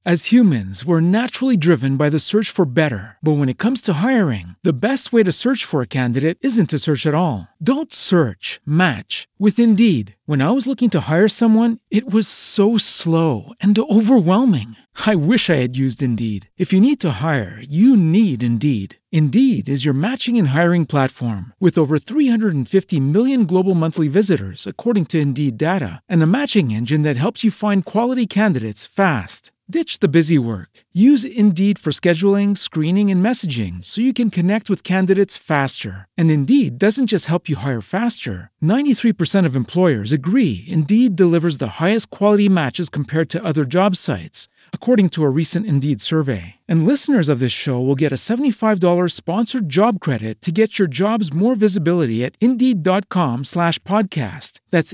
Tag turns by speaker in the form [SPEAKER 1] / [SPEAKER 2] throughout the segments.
[SPEAKER 1] As humans, we're naturally driven by the search for better. But when it comes to hiring, the best way to search for a candidate isn't to search at all. Don't search, match with Indeed. When I was looking to hire someone, it was so slow and overwhelming. I wish I had used Indeed. If you need to hire, you need Indeed. Indeed is your matching and hiring platform with over 350 million global monthly visitors, according to Indeed data, and a matching engine that helps you find quality candidates fast. Ditch the busy work. Use Indeed for scheduling, screening, and messaging so you can connect with candidates faster. And Indeed doesn't just help you hire faster. 93% of employers agree Indeed delivers the highest quality matches compared to other job sites, according to a recent Indeed survey. And listeners of this show will get a $75 sponsored job credit to get your jobs more visibility at Indeed.com/podcast. That's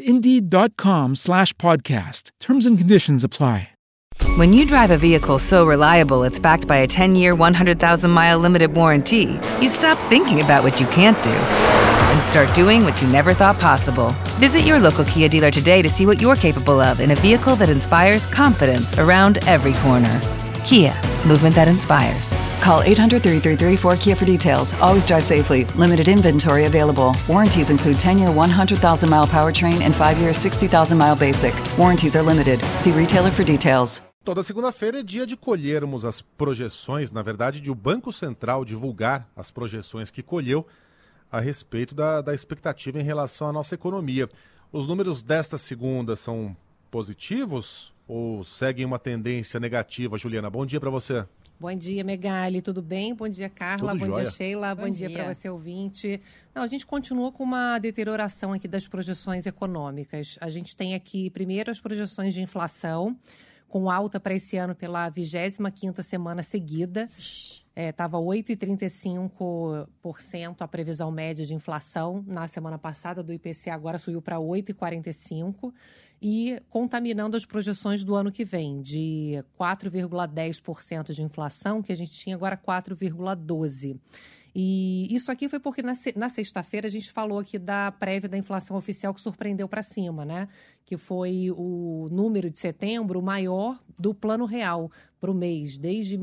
[SPEAKER 1] Indeed.com/podcast. Terms and conditions apply.
[SPEAKER 2] When you drive a vehicle so reliable it's backed by a 10-year, 100,000-mile limited warranty, you stop thinking about what you can't do and start doing what you never thought possible. Visit your local Kia dealer today to see what you're capable of in a vehicle that inspires confidence around every corner. Kia, movement that inspires.
[SPEAKER 3] Call 800-333-4KIA for details. Always drive safely. Limited inventory available. Warranties include 10-year 100,000-mile powertrain and 5-year 60,000-mile basic. Warranties are limited. See retailer for details.
[SPEAKER 4] Toda segunda-feira é dia de colhermos as projeções, na verdade, de o Banco Central divulgar as projeções que colheu a respeito da expectativa em relação à nossa economia. Os números desta segunda são positivos ou seguem uma tendência negativa? Juliana, bom dia para você.
[SPEAKER 5] Bom dia, Megali, tudo bem? Bom dia, Carla,
[SPEAKER 4] Tudo
[SPEAKER 5] bom
[SPEAKER 4] jóia.
[SPEAKER 5] dia, Sheila, bom dia para você, ouvinte. Não, a gente continua com uma deterioração aqui das projeções econômicas. A gente tem aqui, primeiro, as projeções de inflação, com alta para esse ano pela 25ª semana seguida. Estava 8,35% a previsão média de inflação na semana passada do IPCA, agora subiu para 8,45%. E contaminando as projeções do ano que vem, de 4,10% de inflação, que a gente tinha agora 4,12%. E isso aqui foi porque na sexta-feira a gente falou aqui da prévia da inflação oficial que surpreendeu para cima, né? Que foi o número de setembro maior do Plano Real para o mês, desde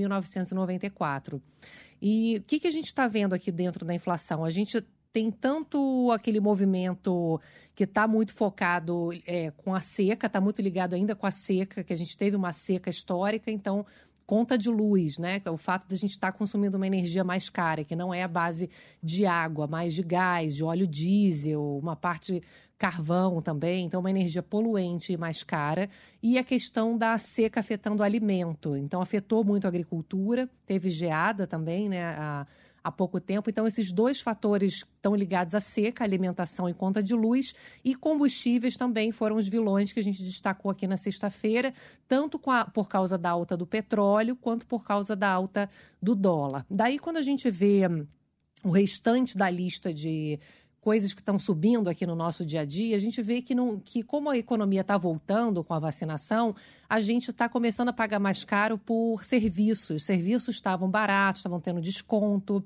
[SPEAKER 5] 1994. E o que a gente está vendo aqui dentro da inflação? A gente tem tanto aquele movimento que está muito focado com a seca, está muito ligado ainda com a seca, que a gente teve uma seca histórica, então conta de luz, né? O fato de a gente estar consumindo uma energia mais cara, que não é a base de água, mas de gás, de óleo diesel, uma parte carvão também, então uma energia poluente e mais cara. E a questão da seca afetando o alimento. Então afetou muito a agricultura, teve geada também, né? Há pouco tempo. Então, esses dois fatores estão ligados à seca, alimentação e conta de luz, e combustíveis também foram os vilões que a gente destacou aqui na sexta-feira, tanto por causa da alta do petróleo, quanto por causa da alta do dólar. Daí, quando a gente vê o restante da lista de coisas que estão subindo aqui no nosso dia a dia, a gente vê que como a economia está voltando com a vacinação, a gente está começando a pagar mais caro por serviços. Serviços estavam baratos, estavam tendo desconto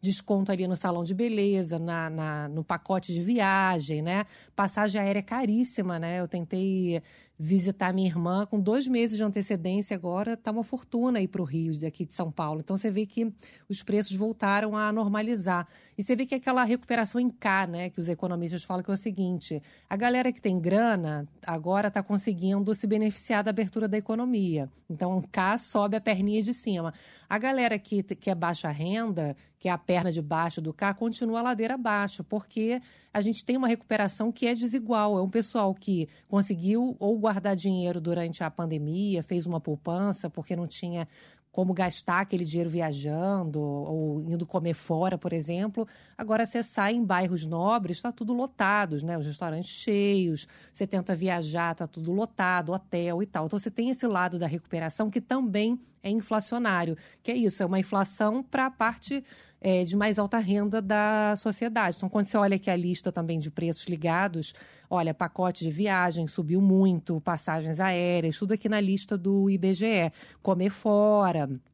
[SPEAKER 5] ali no salão de beleza, no pacote de viagem, né? Passagem aérea caríssima, né? Eu tentei visitar minha irmã com 2 meses de antecedência, agora está uma fortuna ir para o Rio, daqui de São Paulo. Então, você vê que os preços voltaram a normalizar. E você vê que aquela recuperação em K, né, que os economistas falam que é o seguinte, a galera que tem grana agora está conseguindo se beneficiar da abertura da economia. Então, K sobe a perninha de cima. A galera que é baixa renda, que é a perna de baixo do K, continua a ladeira abaixo, porque a gente tem uma recuperação que é desigual. É um pessoal que conseguiu ou guardar dinheiro durante a pandemia, fez uma poupança porque não tinha como gastar aquele dinheiro viajando ou indo comer fora, por exemplo. Agora você sai em bairros nobres, está tudo lotado, né? Os restaurantes cheios, você tenta viajar, está tudo lotado, hotel e tal. Então você tem esse lado da recuperação que também é inflacionário, que é isso, é uma inflação para a parte de mais alta renda da sociedade. Então, quando você olha aqui a lista também de preços ligados, olha, pacote de viagem subiu muito, passagens aéreas, tudo aqui na lista do IBGE. Comer fora,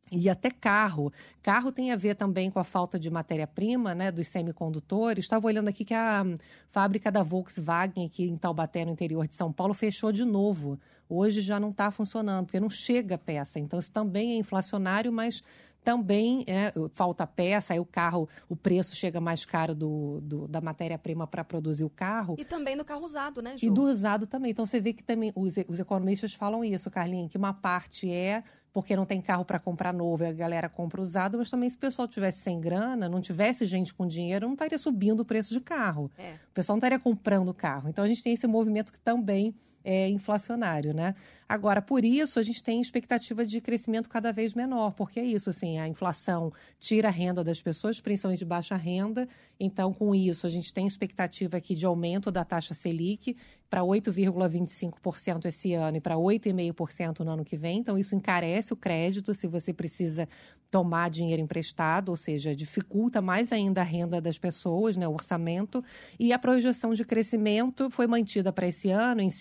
[SPEAKER 5] E até carro. Carro tem a ver também com a falta de matéria-prima, né, dos semicondutores. Estava olhando aqui que a fábrica da Volkswagen aqui em Taubaté, no interior de São Paulo, fechou de novo. Hoje já não está funcionando, porque não chega peça. Então, isso também é inflacionário, mas também falta peça, aí o carro, o preço chega mais caro da matéria-prima para produzir o carro.
[SPEAKER 6] E também do carro usado, né, Ju?
[SPEAKER 5] E do usado também. Então, você vê que também os economistas falam isso, Carlinhos, que uma parte é porque não tem carro para comprar novo e a galera compra usado, mas também se o pessoal tivesse sem grana, não tivesse gente com dinheiro, não estaria subindo o preço de carro. O pessoal não estaria comprando carro. Então, a gente tem esse movimento que também é inflacionário, né? Agora, por isso, a gente tem expectativa de crescimento cada vez menor, porque é isso, assim, a inflação tira a renda das pessoas, principalmente de baixa renda. Então, com isso, a gente tem expectativa aqui de aumento da taxa Selic para 8,25% esse ano e para 8,5% no ano que vem. Então, isso encarece o crédito se você precisa tomar dinheiro emprestado, ou seja, dificulta mais ainda a renda das pessoas, né, o orçamento. E a projeção de crescimento foi mantida para esse ano em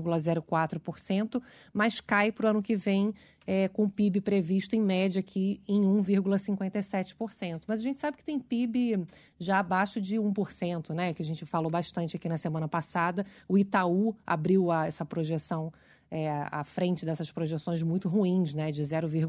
[SPEAKER 5] 5,04%, mas cai para o ano que vem com o PIB previsto em média aqui em 1,57%. Mas a gente sabe que tem PIB já abaixo de 1%, né? Que a gente falou bastante aqui na semana passada. O Itaú abriu essa projeção à frente dessas projeções muito ruins, né? De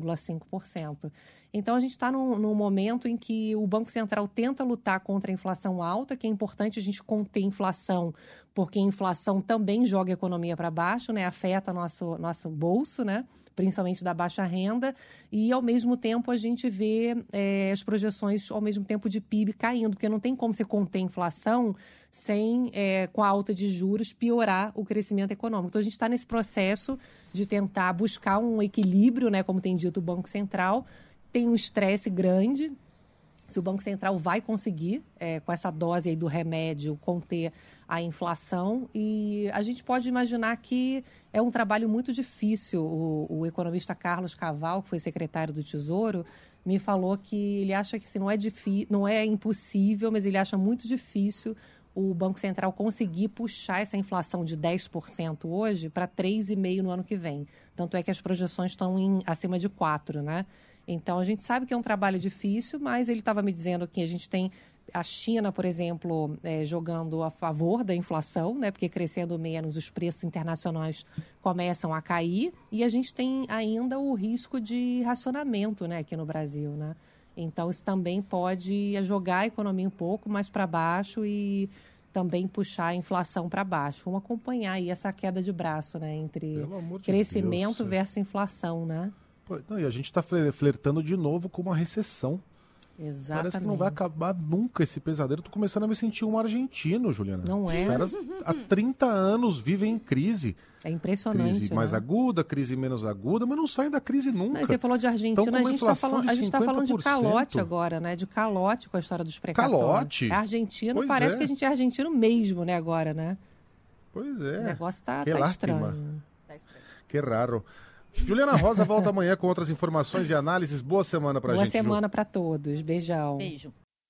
[SPEAKER 5] 0,5%. Então, a gente está num momento em que o Banco Central tenta lutar contra a inflação alta, que é importante a gente conter a inflação, porque a inflação também joga a economia para baixo, né? Afeta nosso bolso, né? Principalmente da baixa renda, e ao mesmo tempo a gente vê as projeções ao mesmo tempo de PIB caindo, porque não tem como você conter a inflação sem, com a alta de juros, piorar o crescimento econômico. Então a gente está nesse processo de tentar buscar um equilíbrio, né, como tem dito o Banco Central. Tem um estresse grande. Se o Banco Central vai conseguir, com essa dose aí do remédio, conter a inflação. E a gente pode imaginar que é um trabalho muito difícil. O economista Carlos Caval, que foi secretário do Tesouro, me falou que ele acha que assim, não é impossível, mas ele acha muito difícil o Banco Central conseguir puxar essa inflação de 10% hoje para 3,5% no ano que vem. Tanto é que as projeções estão acima de 4%, né? Então, a gente sabe que é um trabalho difícil, mas ele estava me dizendo que a gente tem a China, por exemplo, jogando a favor da inflação, né? Porque crescendo menos, os preços internacionais começam a cair. E a gente tem ainda o risco de racionamento, né, aqui no Brasil, né? Então, isso também pode jogar a economia um pouco mais para baixo e também puxar a inflação para baixo. Vamos acompanhar aí essa queda de braço, né, entre crescimento versus inflação, né?
[SPEAKER 4] Não, e a gente está flertando de novo com uma recessão.
[SPEAKER 5] Exatamente.
[SPEAKER 4] Parece que não vai acabar nunca esse pesadelo. Estou começando a me sentir um argentino, Juliana.
[SPEAKER 5] Não é?
[SPEAKER 4] Os caras há 30 anos vivem em crise.
[SPEAKER 5] É impressionante.
[SPEAKER 4] Crise mais aguda, crise menos aguda, mas não saem da crise nunca.
[SPEAKER 5] Não, você falou de Argentina, a gente está falando de calote agora, né? De calote com a história dos precatórios. Calote? Argentino, pois parece que a gente é argentino mesmo, né, agora, né?
[SPEAKER 4] Pois é.
[SPEAKER 5] O negócio tá estranho.
[SPEAKER 4] Que raro. Juliana Rosa volta amanhã com outras informações e análises. Boa semana pra gente.
[SPEAKER 5] Boa semana pra todos. Beijão.
[SPEAKER 6] Beijo.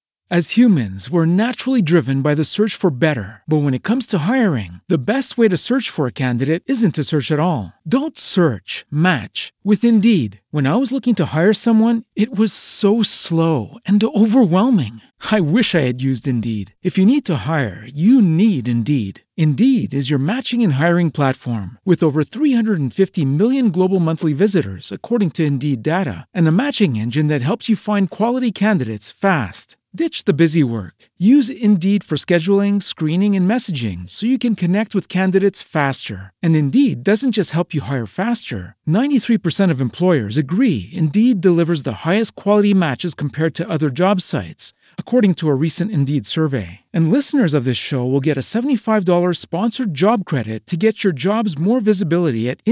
[SPEAKER 1] As humans, we're naturally driven by the search for better. But when it comes to hiring, the best way to search for a candidate isn't to search at all. Don't search, match with Indeed. When I was looking to hire someone, it was so slow and overwhelming. I wish I had used Indeed. If you need to hire, you need Indeed. Indeed is your matching and hiring platform with over 350 million global monthly visitors, according to Indeed data, and a matching engine that helps you find quality candidates fast. Ditch the busy work. Use Indeed for scheduling, screening, and messaging so you can connect with candidates faster. And Indeed doesn't just help you hire faster. 93% of employers agree Indeed delivers the highest quality matches compared to other job sites, according to a recent Indeed survey. And listeners of this show will get a $75 sponsored job credit to get your jobs more visibility at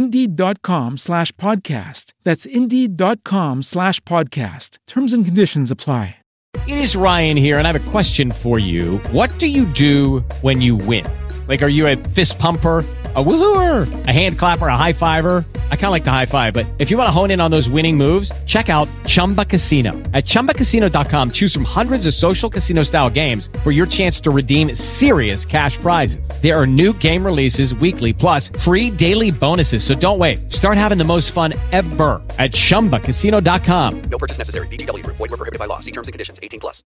[SPEAKER 1] Indeed.com/podcast. That's Indeed.com/podcast. Terms and conditions apply.
[SPEAKER 7] It is Ryan here, and I have a question for you. What do you do when you win? Like, are you a fist pumper? A woohooer, a hand clapper, a high fiver. I kind of like the high five, but if you want to hone in on those winning moves, check out Chumba Casino. At ChumbaCasino.com, choose from hundreds of social casino style games for your chance to redeem serious cash prizes. There are new game releases weekly, plus free daily bonuses. So don't wait. Start having the most fun ever at ChumbaCasino.com.
[SPEAKER 6] No purchase necessary. VGW Group. Void where prohibited by law. See terms and conditions. 18+.